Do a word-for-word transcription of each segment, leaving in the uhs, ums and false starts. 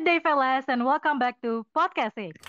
Good day, fellas, and welcome back to Podcast Six.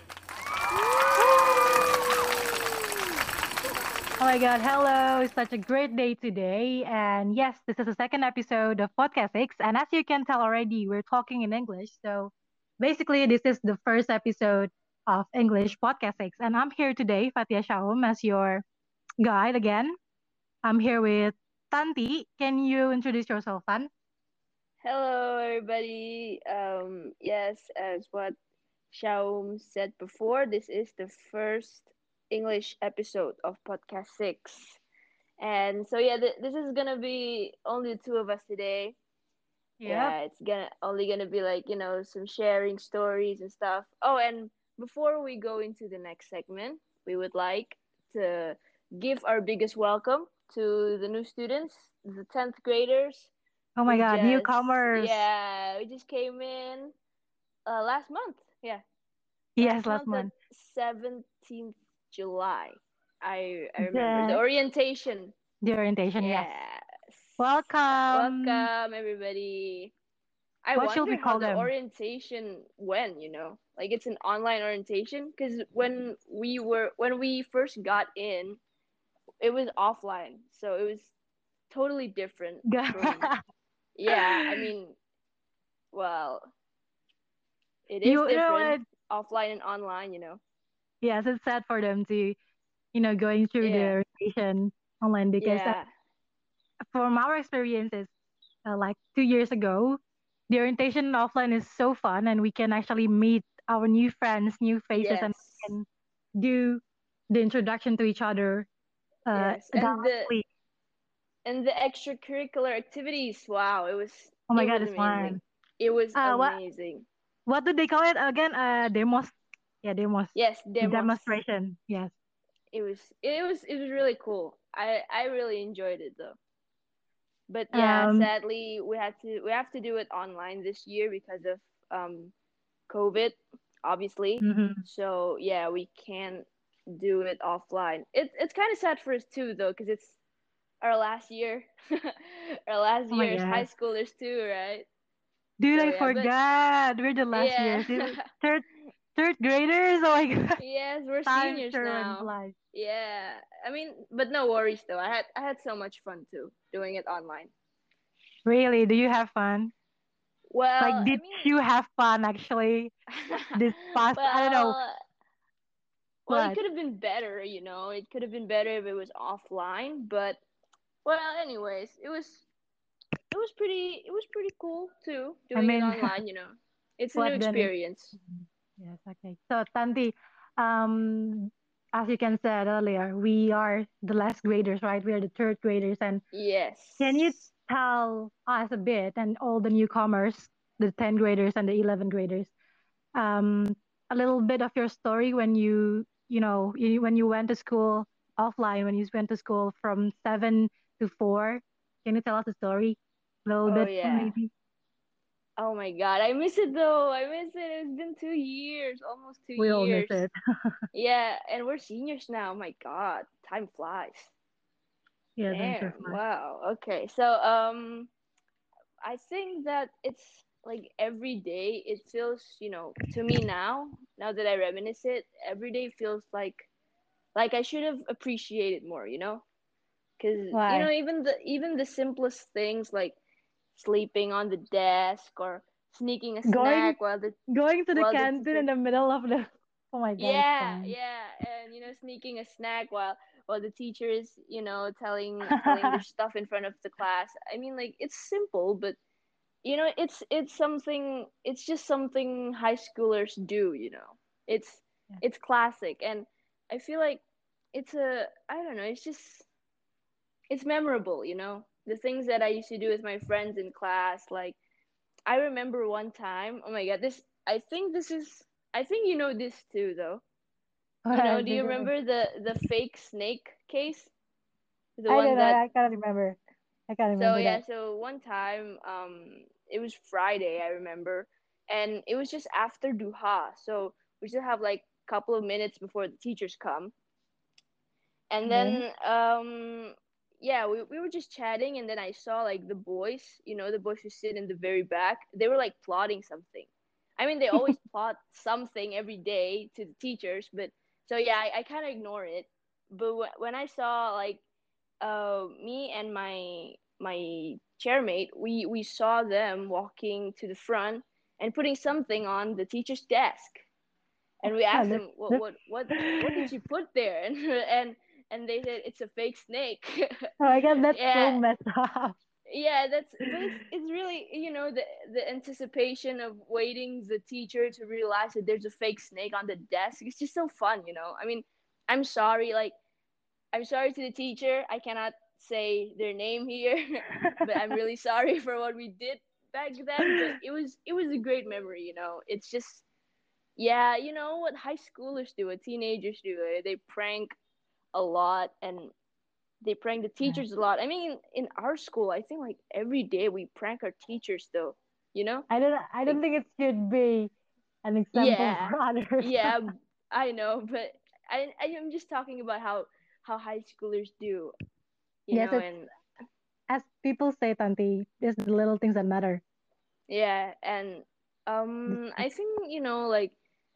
Oh my God, hello! It's such a great day today, and yes, this is the second episode of Podcast Six, and as you can tell already, we're talking in English. So basically, this is the first episode of English Podcast Six, and I'm here today, Fatia Shahum, as your guide again. I'm here with Tanti. Can you introduce yourself, Tan? Hello, everybody. Um, yes, as what Shaum said before, this is the first English episode of Podcast six. And so, yeah, th- this is gonna be only the two of us today. Yep. Yeah, it's gonna only gonna be like, you know, some sharing stories and stuff. Oh, and before we go into the next segment, we would like to give our biggest welcome to the new students, the tenth graders Oh my who God, just newcomers. yeah we just came in uh last month, yeah, Yes, last last month at month. seventeenth July. I i remember the The orientation. the orientation, yes. Yes. Uh, Welcome. welcome everybody. I What should wonder we how call the them? orientation went, you know, like it's an online orientation because when we were when we first got in, it was offline, so it was totally different from, yeah, I mean, well, it is You you know different what? offline and online, you know. Yes, it's sad for them to, you know, going through Yeah. the orientation online because uh, Yeah. from our experiences, uh, like two years ago, the orientation offline is so fun and we can actually meet our new friends, new faces, and we Yes. can do the introduction to each other uh, Yes. And the directly. and the extracurricular activities, wow, it was Oh my it God, was it's amazing. fun. It was Uh, what amazing. what do they call it again? Uh, demos. Yeah, demos. Yes, The demos. demonstration. Yes. It was it was it was really cool. I I really enjoyed it though. But yeah, Um. sadly we had to we have to do it online this year because of um COVID, obviously. Mhm. So yeah, we can't do it offline. It, it's kind of sad for us too, though, because it's our last year, our last Oh my year as high God. schoolers too, right? Dude, So I yeah, but forgot. We're the last yeah, years. It- Third third graders. Oh my God. yes, we're Time seniors sure went now. flies. Yeah, I mean, but no worries though. I had I had so much fun too doing it online. Really? Do you have fun? Like, Well, I did mean, you have fun actually this past? I don't know well, well, it what. could have been better, you know. It could have been better if it was offline, but well, anyways, it was it was pretty it was pretty cool too I doing it mean, online, you know. It's a new what then is? experience. Mhm. Yes. Okay. So, Tanti, um, as you can said earlier, we are the last graders, right? We are the third graders, and can you Yes. tell us a bit and all the newcomers, the tenth graders and the eleventh graders, um, a little bit of your story when you, you know, you, when you went to school offline, when you went to school from seven to four? Can you tell us a story? A little Oh bit, yeah. maybe? Oh my God, I miss it though. I miss it. It's been two years, almost two We all miss years. it. Yeah, and we're seniors now. My God, time flies. Yeah, time sure Damn. flies. Wow. Okay. So, um, I think that it's like every day it feels, you know, to me now, now that I reminisce it, every day feels like like I should have appreciated more, you know? Cuz you know, Why? even the even the simplest things like sleeping on the desk or sneaking a Going snack while the going to the while the canteen in teacher, the middle of the. Oh my God, it's yeah, fun. yeah, and you know, sneaking a snack while while the teacher is, you know, telling telling their stuff in front of the class. I mean, like it's simple, but you know, it's it's something. It's just something high schoolers do. You know, it's Yeah. it's classic, and I feel like it's a I don't know. It's just it's memorable. You know, the things that I used to do with my friends in class. Like I remember one time. Oh my god, this I think this is I think you know this too, though. You know, What do did you you? remember the the fake snake case? The I don't one know. that I can't remember. I can't so remember yeah, that. so one time um it was Friday, I remember, and it was just after Duha. So we still have like a couple of minutes before the teachers come. And Okay. then um yeah, we we were just chatting and then I saw like the boys, you know, the boys who sit in the very back, they were like plotting something. I mean, they always plot something every day to the teachers, but so yeah, I, I kind of ignore it. But w- when I saw like uh me and my my chairmate, we we saw them walking to the front and putting something on the teacher's desk, and we Yeah, asked that's, them what that's, what what what did you put there, and and and they said it's a fake snake. oh my God, that's so Yeah, messed up. yeah, that's but it's it's really, you know, the the anticipation of waiting the teacher to realize that there's a fake snake on the desk. It's just so fun, you know. I mean, I'm sorry, like I'm sorry to the teacher. I cannot say their name here, but I'm really sorry for what we did back then. But it was it was a great memory, you know. It's just yeah, you know what high schoolers do, what teenagers do. They prank a lot, and they prank the Yeah. teachers a lot. I mean, in our school, I think like every day we prank our teachers, though. You know, I don't I don't like think it should be an example yeah, for others. yeah, I know, but I I am just talking about how how high schoolers do. You Yes, know, it's and as people say, Tanti, it's the little things that matter. yeah, and um, I think you know like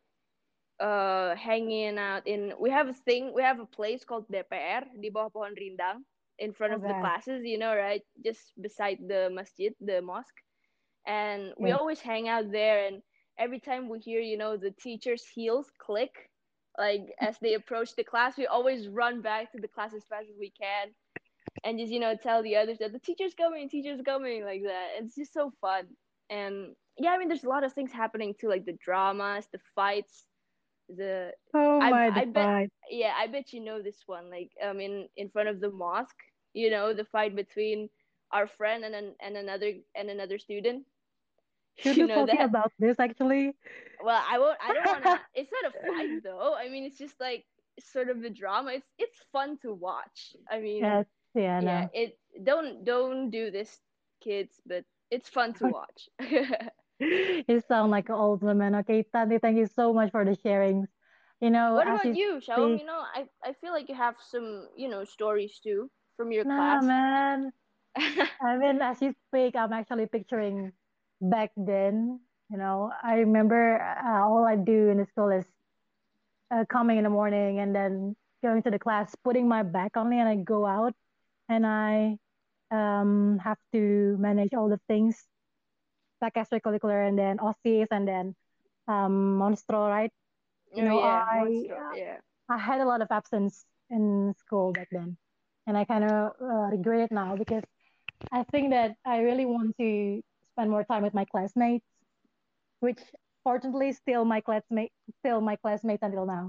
uh hanging out in we have a thing we have a place called D P R di bawah pohon rindang in front Oh of the God. classes, you know, right, just beside the masjid, the mosque, and we Yes. always hang out there. And every time we hear, you know, the teacher's heels click, like as they approach the class, we always run back to the class as fast as we can and just, you know, tell the others that the teacher's coming, teacher's coming, like that. It's just so fun. And yeah, I mean, there's a lot of things happening too, like the dramas, the fights, the Oh I my, the I bet fight. yeah, I bet you know this one. Like um in in front of the mosque, you know, the fight between our friend and an, and another and another student. Should You we know talking that? about this actually? Well, I won't. I don't wanna. It's not a fight though. I mean, it's just like sort of a drama. It's it's fun to watch. I mean, Yes, yeah, yeah. no. It don't don't do this, kids. But it's fun to watch. You sound like an old woman. Okay, Tanti, thank you so much for the sharings. You know, What as about you you, Shalom? speak, You know, I I feel like you have some, you know, stories too from your nah, class. man. I mean, as you speak, I'm actually picturing back then. You know, I remember uh, all I do in the school is uh, coming in the morning and then going to the class, putting my back only, and I go out and I um have to manage all the things like extracurricular and then O S I S and then um Monstro, right? You Oh know, yeah, I Monstro. Yeah. I had a lot of absence in school back then, and I kind of uh, regret it now because I think that I really want to spend more time with my classmates, which fortunately still my classmate still my classmates until now.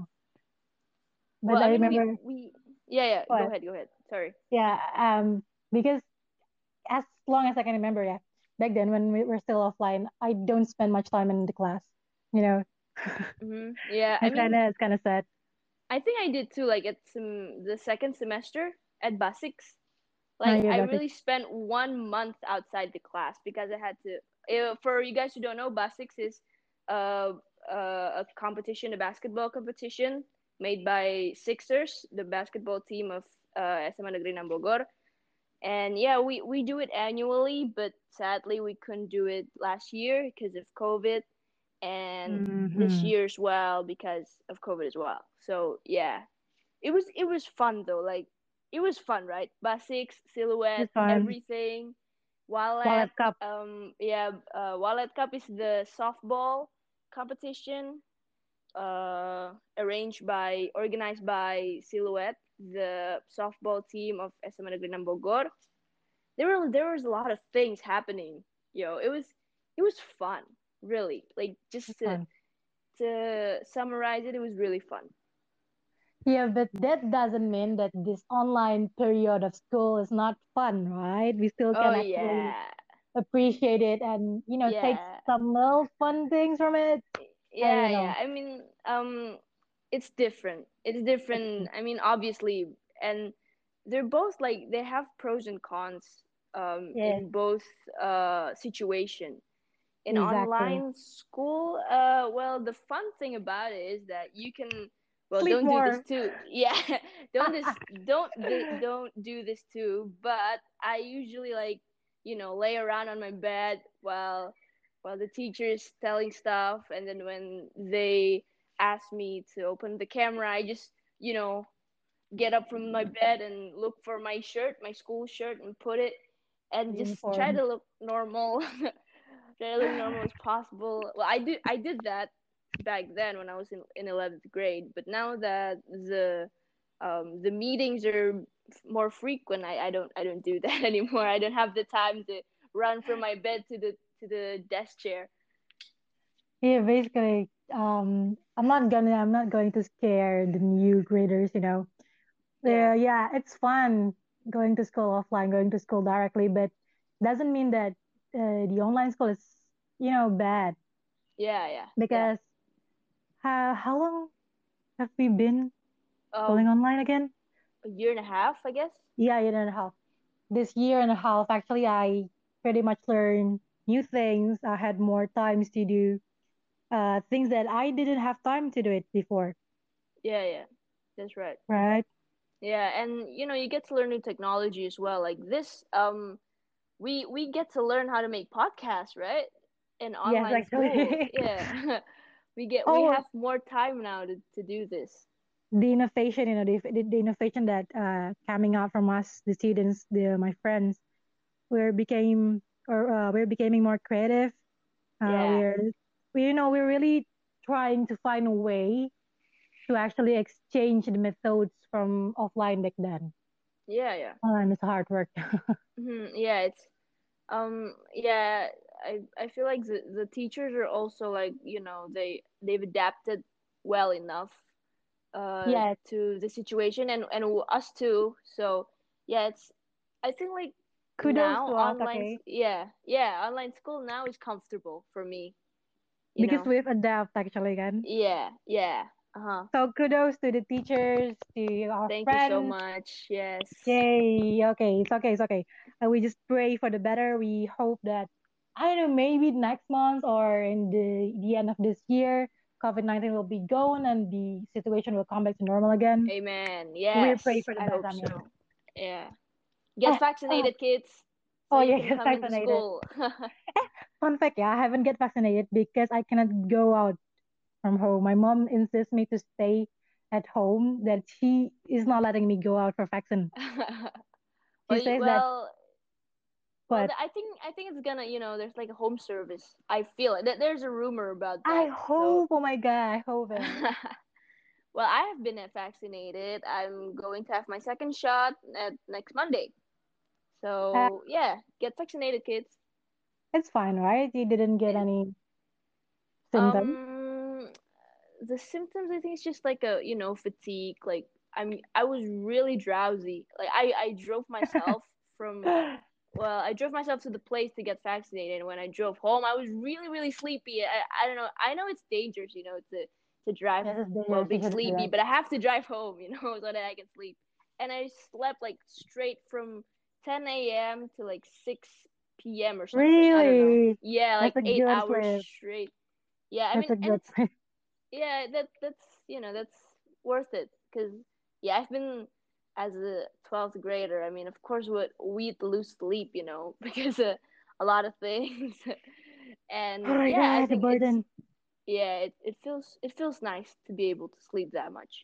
But Well, I I mean, we remember we yeah yeah. Go what, ahead, go ahead. Sorry. yeah, um, because as long as I can remember, yeah, back then when we were still offline, I don't spend much time in the class. You know, Mm-hmm. Yeah, I it's kind mean, of it's kind of sad. I think I did too. Like at some the second semester at Basics, No, like yeah, I basic. really spent one month outside the class because I had to. Uh, for you guys who don't know, Basics is uh, uh, a competition, a basketball competition made by Sixers, the basketball team of uh, S M A Negeri Enam Bogor. And yeah, we we do it annually, but sadly we couldn't do it last year because of COVID, and this Mm-hmm. year as well because of COVID as well. So yeah, it was it was fun though. Like it was fun, right? Basics, silhouette, It's fun. everything. Wallet, Wallet cup. um, yeah, uh, Wallet Cup is the softball competition, uh, arranged by, organized by Silhouette, the softball team of S M A Negeri Enam Bogor. There were there was a lot of things happening. Yo, it was it was fun, really. Like just It's to fun. to summarize it, it was really fun. Yeah, but that doesn't mean that this online period of school is not fun, right? We still Oh can actually yeah, appreciate it and, you know, take yeah, some little fun things from it. I yeah, don't yeah. know. I mean, um, it's different. It's It's different. I mean, obviously, and they're both like they have pros and cons. Um, yes, in both uh situation. In exactly. online school, uh, well, the fun thing about it is that you can, well, Sleep don't do this more. too. Yeah, don't this, don't th- don't do this too. But I usually like, you know, lay around on my bed while while the teacher is telling stuff, and then when they ask me to open the camera, I just, you know, get up from my bed and look for my shirt, my school shirt, and put it, and just try Uniform. to look normal, try to look normal as possible. Well, I do, I did that back then when I was in in eleventh grade, but now that the um the meetings are more frequent, I, I don't I don't do that anymore. I don't have the time to run from my bed to the to the desk chair. Yeah, basically, um, I'm not gonna, I'm not going to scare the new graders, you know. Yeah, Yeah, yeah, it's fun going to school offline, going to school directly, but doesn't mean that uh, the online school is, you know, bad yeah, yeah, yeah. because how how long have we been schooling Um, online again? a year and a half, I guess. Yeah, year and a half. This year and a half, actually, I pretty much learned new things. I had more times to do uh, things that I didn't have time to do it before, Yeah, yeah, that's right. right? Yeah, and you know, you get to learn new technology as well. Like this, um, we we get to learn how to make podcasts, right? In Yes, online school. actually. Yeah. we get we Oh, have more time now to, to do this. the innovation, you know, the, the, the innovation that uh, coming out from us, the students, the my friends, we're became or uh, we're becoming more creative. Uh, Yeah. we're we, you know, we're really trying to find a way to actually exchange the methods from offline back then. Yeah, yeah. Online is hard work. Hmm. Yeah, it's um yeah, I I feel like the the teachers are also like, you know, they they've adapted well enough uh Yeah, to the situation, and and us too. So, yeah, it's I think like kudos now to us, online okay, yeah, yeah, online school now is comfortable for me, you because know. we've adapt actually again. Yeah, yeah. Uh-huh. So kudos to the teachers, to our Thank you so friends. much. Yes. Yay. Okay, it's okay, it's okay. Uh, we just pray for the better. We hope that, I don't know, maybe next month or in the, the end of this year, COVID nineteen will be gone and the situation will come back to normal again. Amen. We pray Yes, for the I best, hope I mean. so. Yeah. Get Eh, oh, vaccinated, kids, so oh you yeah, can get come into vaccinated. school. Fun fact, yeah, I haven't get vaccinated because I cannot go out from home. My mom insists me to stay at home, that she is not letting me go out for vaccine. well, She you, says that, well, well. but th- I think I think it's gonna. You know, there's like a home service. I feel it. Th- There's a rumor about I that. So, hope, oh my God, I hope it. well, I have been vaccinated. I'm going to have my second shot at next Monday. Uh, So, yeah, get vaccinated, kids. it's fine, right? You didn't get It, any symptoms. um, the symptoms, I think it's just like a, you know, fatigue. Like I'm I was really drowsy. Like I I drove myself from well, I drove myself to the place to get vaccinated, and when I drove home, I was really really sleepy. I I don't know. I know it's dangerous, you know, to to drive Yes, it's while dangerous. You being shouldn't do sleepy, that. but I have to drive home, you know, so that I can sleep. And I slept like straight from ten a m to like six p m or something. I don't know. Really? Yeah, That's like a eight good hours sleep. straight. Yeah, I That's mean, a and good it's sleep. yeah, that that's you know that's worth it because yeah, I've been as a twelfth grader. I mean, of course, what we'd lose sleep, you know, because of a lot of things, Oh and my yeah, I God, the think it's burden. yeah, it, it feels it feels nice to be able to sleep that much.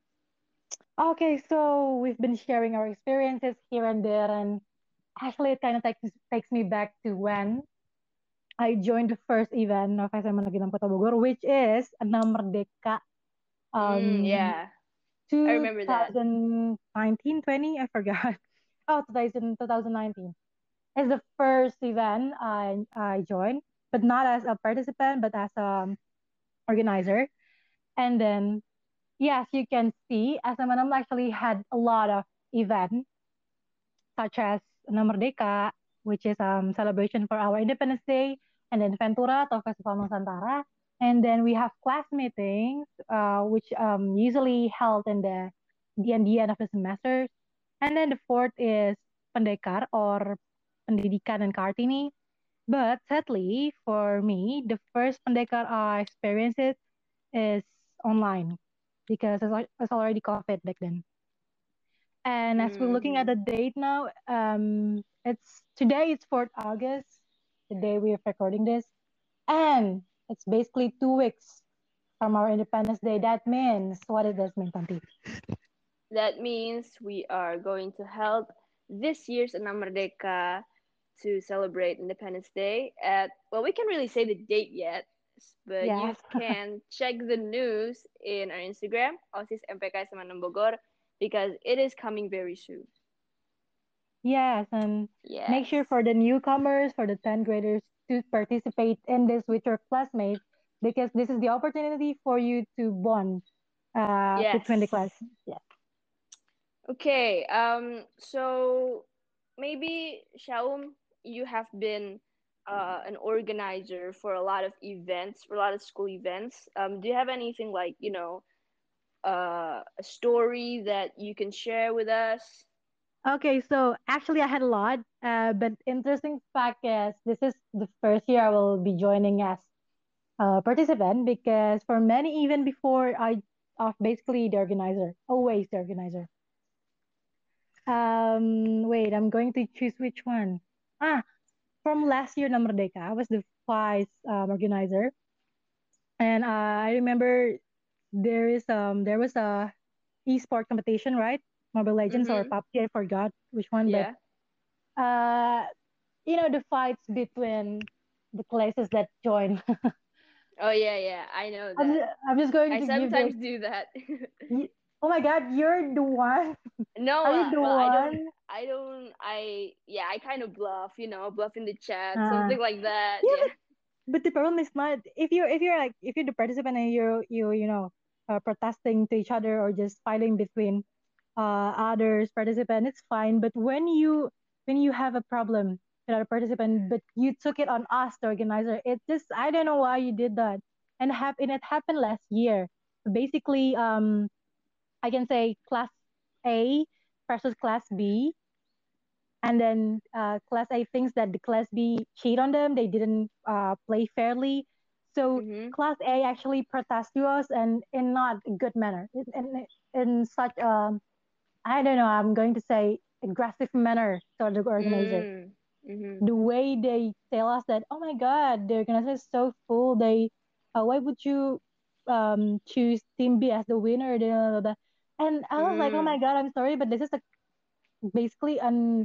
Okay, so we've been sharing our experiences here and there, and actually, it kind of takes takes me back to when I joined the first event of S M A Negeri enam Kota Bogor, which is Enam Merdeka Mm, um yeah, I remember that. two thousand nineteen, twenty, I forgot. Oh, two thousand, twenty nineteen. It's the first event I I joined, but not as a participant, but as a organizer. And then, yes, you can see S M N M actually had a lot of events, such as Enam Merdeka, which is um celebration for our Independence Day, and then Ventura atau Festival Nusantara. And then we have class meetings, uh, which um usually held in the the end, the end of the semester. And then the fourth is Pendekar or Pendidikan and Kartini. But sadly, for me, the first Pendekar I experienced it is online because it's, al- it's already COVID back then. And as we're looking at Mm-hmm. the date now, um, it's today it's fourth August, the day we're recording this. And it's basically two weeks from our Independence Day. That means, what does that mean, Tanti? That means we are going to help this year's Enam Merdeka to celebrate Independence Day at, well, we can't really say the date yet, but you Yes. can check the news in our Instagram, OSIS M P K Semanam Bogor, because it is coming very soon. Yes, and make sure Yes. for the newcomers, for the tenth graders to participate in this with your classmates because this is the opportunity for you to bond uh, between the Yes. class. Yeah. Okay, um, so maybe Shaum, you have been uh, an organizer for a lot of events, for a lot of school events. Um, do you have anything like, you know, uh, a story that you can share with us? Okay, so actually I had a lot, uh, but interesting fact is this is the first year I will be joining as a participant because for many, even before I of basically the organizer, always the organizer. Um, wait, I'm going to choose which one. Ah, from last year, Namerdeka, I was the vice um, organizer, and uh, I remember there is um there was a e-sport competition, right? Mobile Legends or Mm-hmm. P U B G, I forgot which one, but Yeah. uh, you know the fights between the classes that join. Oh, yeah, yeah, I know I'm that. just, I'm just going I to give the. sometimes do that. y- Oh my God, you're the one. No, Are you uh, the well, I don't, one? I don't, I, yeah, I kind of bluff, you know, bluff in the chat, Uh, something like that. yeah, Yeah. but the problem is not if you're if you're like if you're the participant and you're you you know uh, protesting to each other or just fighting between uh others participant, it's fine. But when you when you have a problem with other participant, but you took it on us, the organizer, it just I don't know why you did that. And hap- and it happened last year. Basically, um, I can say class A versus class B, and then uh, class A thinks that the class B cheat on them. They didn't uh, play fairly. So Mm-hmm. class A actually protest to us and in not a good manner. In, in, in such a, I don't know, I'm going to say aggressive manner toward the organizer. Mm. Mm-hmm. The way they tell us that, oh my God, the organizer is so full. They, uh, why would you um, choose Team B as the winner? Da, da, da, da. And I was like, oh my Mm. God, I'm sorry, but this is a, basically an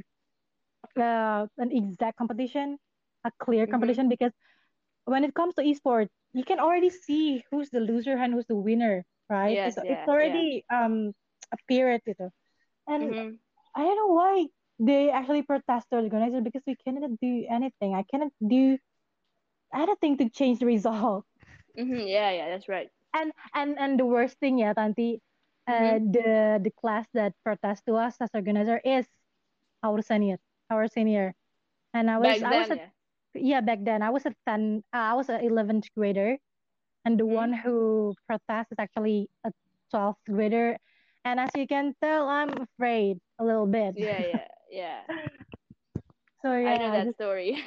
uh, an exact competition, a clear Mm-hmm. competition, because when it comes to esports, you can already see who's the loser and who's the winner, right? It's Yes, it's yeah, yeah. already um apparent, ito. And Mm-hmm. I don't know why they actually protest the organizer because we cannot do anything. I cannot do anything to change the result. Mm-hmm. Yeah, yeah, that's right. And and and the worst thing, yeah, Tanti, uh, Mm-hmm. the the class that protest to us as organizer is our senior, our senior. And I was Back I was then, a yeah. yeah, back then I was a ten, uh, I was an eleventh grader, and the Mm-hmm. one who protests is actually a twelfth grader. And as you can tell, I'm afraid a little bit. Yeah, yeah, yeah. So I know yeah, I that just, story.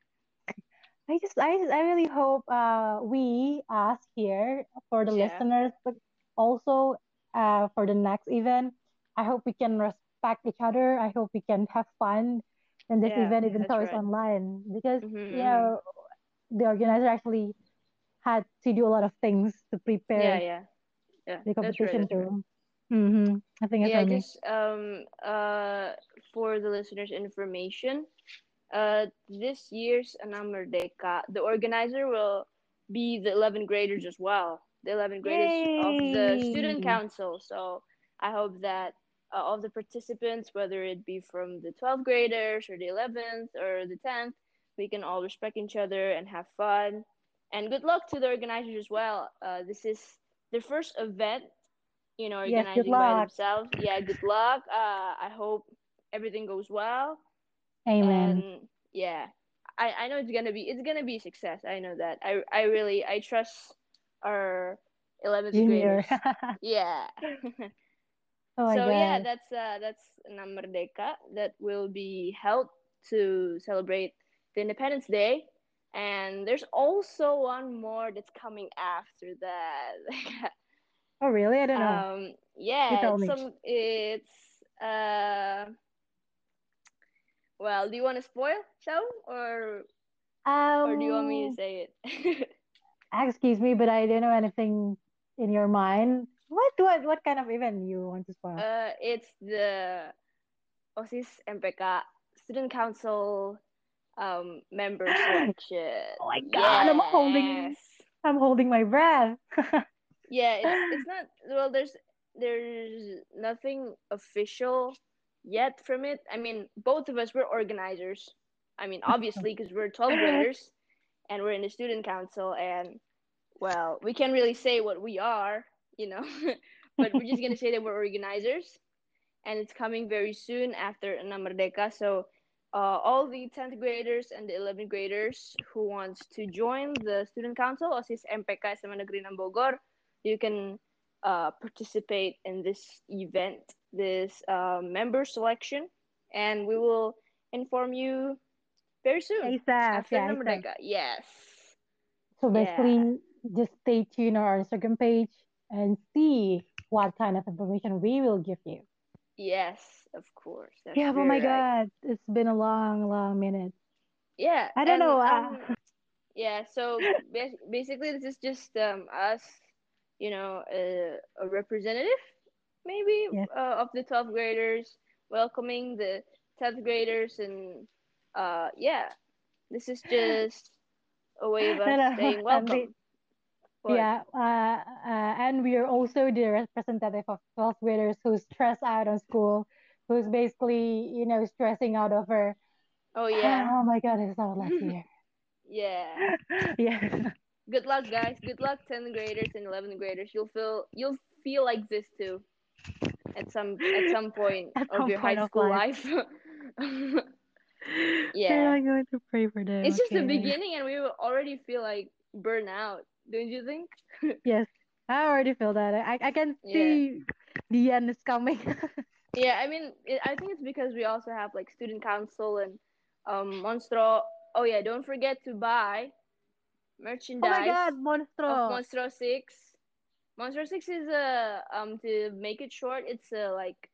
I just, I just, I really hope uh we ask here for the Yeah, listeners, but also uh for the next event. I hope we can respect each other. I hope we can have fun in this yeah, event, even that's though it's right. online, because Mm-hmm, you mm-hmm. know the organizer actually had to do a lot of things to Yeah, prepare yeah, yeah. the That's right. competition That's right. too. Mm-hmm. I think it's Yeah, for me. just um uh for the listeners' information, uh this year's Anam Merdeka, the organizer will be the eleventh graders as well, the eleventh graders of the student Yay! council. So I hope that uh, all the participants, whether it be from the twelfth graders or the eleventh or the tenth, we can all respect each other and have fun. And good luck to the organizers as well. Uh, this is their first event, you know, Yes, good organizing by luck. themselves. Yeah, good luck. Uh, I hope everything goes well. Amen. And yeah, I, I know it's gonna be it's gonna be a success. I know that. I I really I trust our eleventh Junior. graders. Yeah. Oh my So yeah, God. that's uh that's Nam Merdeka that will be held to celebrate the Independence Day. And there's also one more that's coming after that. Oh really? I don't know. Um, You yeah, tell it's me. some it's uh well, do you want to spoil show or Or do you want me to Um, say it? excuse me, but I don't know anything in your mind. What what what kind of event you want to spoil? uh, it's the OSIS M P K Student Council um member selection. Oh my God, I'm holding Yes. I'm holding my breath. Yeah, it's it's not well there's there's nothing official yet from it. I mean, both of us were organizers. I mean, obviously because we're twelfth graders and we're in the student council and well, we can't really say what we are, you know, but we're just going to say that we're organizers and it's coming very soon after Enam Merdeka. So, uh, all the tenth graders and the eleventh graders who wants to join the student council OSIS M P K S M A Negeri enam Bogor, you can uh, participate in this event, this uh, member selection, and we will inform you very soon ASAP, after yeah, Enam ASAP. Merdeka. Yes, So yeah, basically, just stay tuned on our Instagram page and see what kind of information we will give you. yes, of course, that's Yeah, oh my very right. God, it's been a long, long minute. Yeah, I don't and know. um, Uh, yeah, so bas- basically, this is just um, us, you know, uh, a representative, maybe, yes. uh, of the twelfth graders, welcoming the tenth graders, and uh, yeah, this is just a way of No, us no, saying and the welcome. What? yeah, uh, uh, and we are also the representative of twelfth graders who stress out on school, who's basically, you know, stressing out over, Oh, yeah. oh my God, it's our last year. Yeah. Yeah, Good luck, guys. Good luck, tenth graders and eleventh graders. You'll feel you'll feel like this too at some at some point at of some your high point of school life. life. Yeah, Yeah. I'm going to pray for them. It's just the Okay. beginning and we will already feel like burnout, don't you think? Yes, I already feel that. I I can Yeah. see the end is coming. Yeah, I mean, it, I think it's because we also have like student council and um Monstro. Oh yeah, don't forget to buy Oh my God, merchandise of Monstro. Monstro six. Monstro six is a um to make it short, it's a like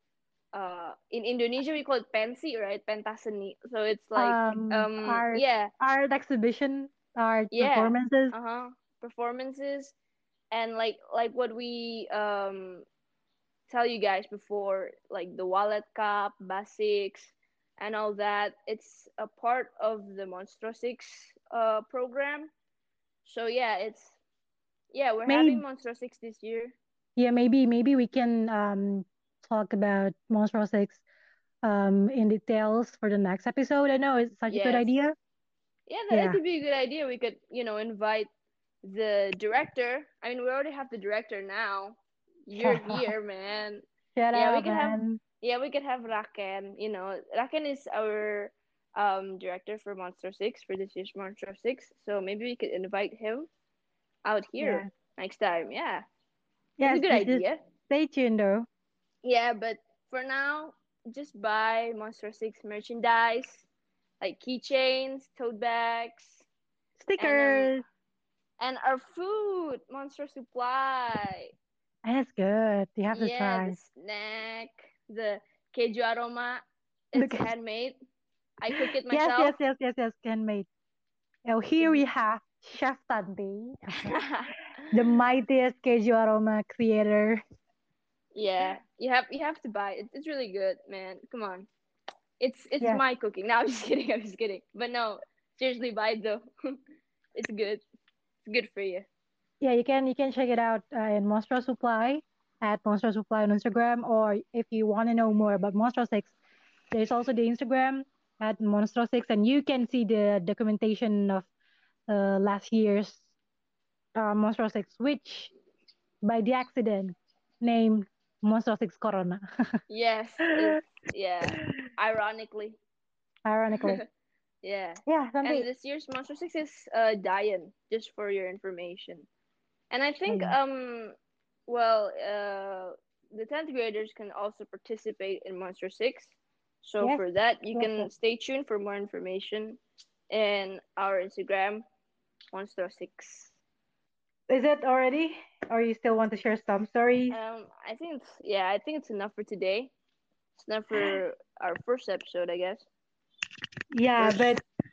uh in Indonesia we call it pensi, right? Pentaseni. So it's like Um, um art, yeah, art exhibition, art yeah. performances. Uh-huh. Performances and like like what we um tell you guys before, like the wallet cup, basics, and all that. It's a part of the Monstro Six uh program. So yeah, it's yeah we're having Maybe, Monstro Six this year. yeah, maybe, maybe we can um talk about Monstro six um in details for the next episode. I know it's such a good Yes, idea. yeah, that, that Yeah. could be a good idea. We could you know invite the director. I mean, we already have the director now. You're Shut up. here, man. Shut Yeah, we up, could have man. yeah, we could have Raken. You know, Raken is our um director for Monster Six for this year's Monster Six. So maybe we could invite him out here Yeah. next time. Yeah, that's a Yes, good just just idea. stay tuned though. Yeah, but for now, just buy Monster Six merchandise like keychains, tote bags, and um Stickers. and our food, Monster Supply. That's good. You have to Yeah, the try. snack, the keju aroma. It's Look. handmade. I cook it Yes, yes, myself. yes, yes, yes. Handmade. Oh, here we have Chef Tanti, the mightiest Keju Aroma creator. Yeah, you have you have to buy it. It's really good, man. Come on, it's it's Yes. my cooking. No, I'm just kidding. I'm just kidding. But no, seriously, buy it though. It's good. It's good for you. Yeah, you can you can check it out uh, in Monstro Supply at Monstro Supply on Instagram, or if you want to know more about Monstro Six, there's also the Instagram at Monstro Six, and you can see the documentation of uh, last year's uh, Monstro Six, which by the accident named Monstro Six Corona. Yes, it's yeah. Ironically, Ironically, yeah. yeah, And Santi. this year's Monster Six is uh Diane, just for your information. And I Oh think yeah, um well uh the tenth graders can also participate in Monster Six. So yes, for that, you yes, yes. can stay tuned for more information in our Instagram, Monster Six. Is it already, or you still want to share some stories? Um, I think it's yeah, I think it's enough for today. It's enough for our first episode, I guess. Yeah, but First.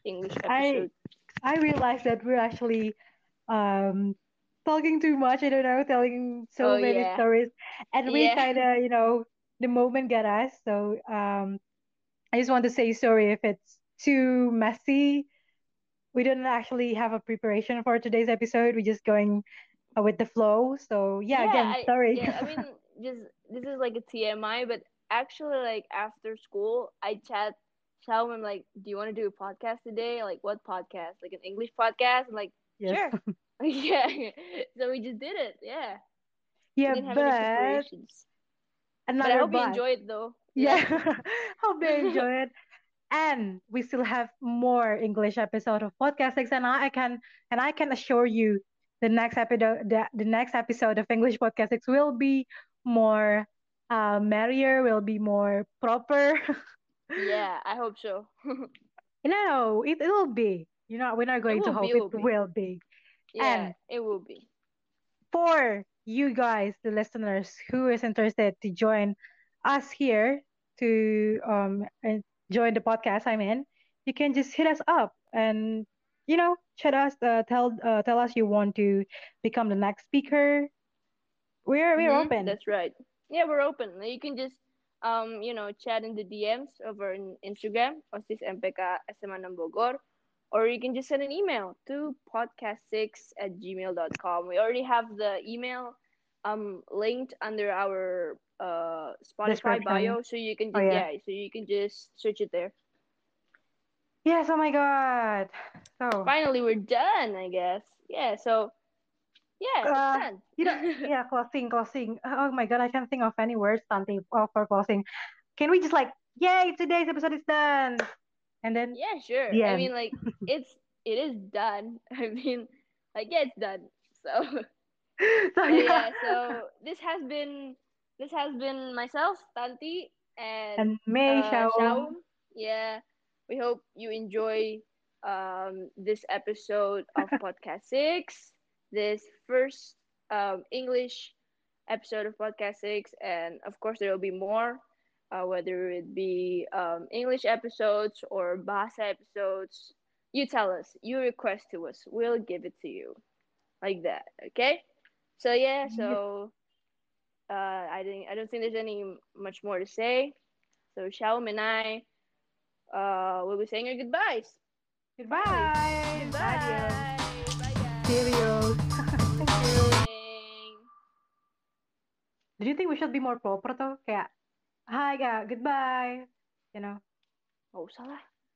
English I episode. I realized that we're actually um talking too much. I don't know, telling Oh so many yeah, stories, and we yeah. kind of, you know, the moment got us. So um, I just want to say sorry if it's too messy. We didn't actually have a preparation for today's episode. We're just going uh, with the flow. So yeah, Yeah, again, I sorry. yeah, I mean, just this is like a T M I, but actually, like after school, I chat tell him like, "Do you want to do a podcast today? Like, what podcast? Like an English podcast?" I'm like, Yes. "Sure." Yeah, so we just did it. Yeah, we Yeah, didn't have any but preparations, but I another hope you but. enjoy it though. Yeah, Yeah. hope they enjoy it. And we still have more English episode of Podcast Six, and I can and I can assure you, the next episode, the, the next episode of English Podcast Six will be more uh, merrier, will be more proper. Yeah, I hope so. No, it will be. You know, we're not It going to will be. hope It it will be. will be. Yeah, And it will be. for you guys, the listeners who is interested to join us here to um and join the podcast I'm in, you can just hit us up and you know chat us, uh, tell uh, tell us you want to become the next speaker. We're we're Mm-hmm. open. That's right. Yeah, we're open. You can just um, you know, chat in the D Ms over in Instagram, Osis M P K S M A ng Bogor, or you can just send an email to podcast six at gmail dot com. We already have the email um linked under our uh Spotify Description. bio, so you can Oh just yeah. yeah, so you can just search it there. Yes. Oh my God. So Finally, we're done, I guess. Yeah, so yeah, it's uh, done. you know, yeah, closing, closing. Oh my God, I can't think of any words, something uh, for closing. Can we just like, yay, today's episode is done, and then Yeah, sure. the I end. mean, like it's it is done. I mean, like yeah, it's done. So So so yeah, yeah. So this has been this has been myself, Tanti, and and May uh Shaum. Shaum. Yeah, we hope you enjoy um this episode of Podcast Six. This first um English episode of Podcast Six, and of course there will be more, uh, whether it be um, English episodes or Bahasa episodes. You tell us, you request to us, we'll give it to you like that. Okay? So yeah, Yes. so uh, I think I don't think there's any much more to say. So Xiaom and I uh, will be saying our goodbyes. Finally, Goodbye. Adios. goodbye. Bye Cheerios. guys. Thank you. Ding. Do you think we should be more proper though? Kayak, hi, kayak, goodbye. You know. Oh, salah.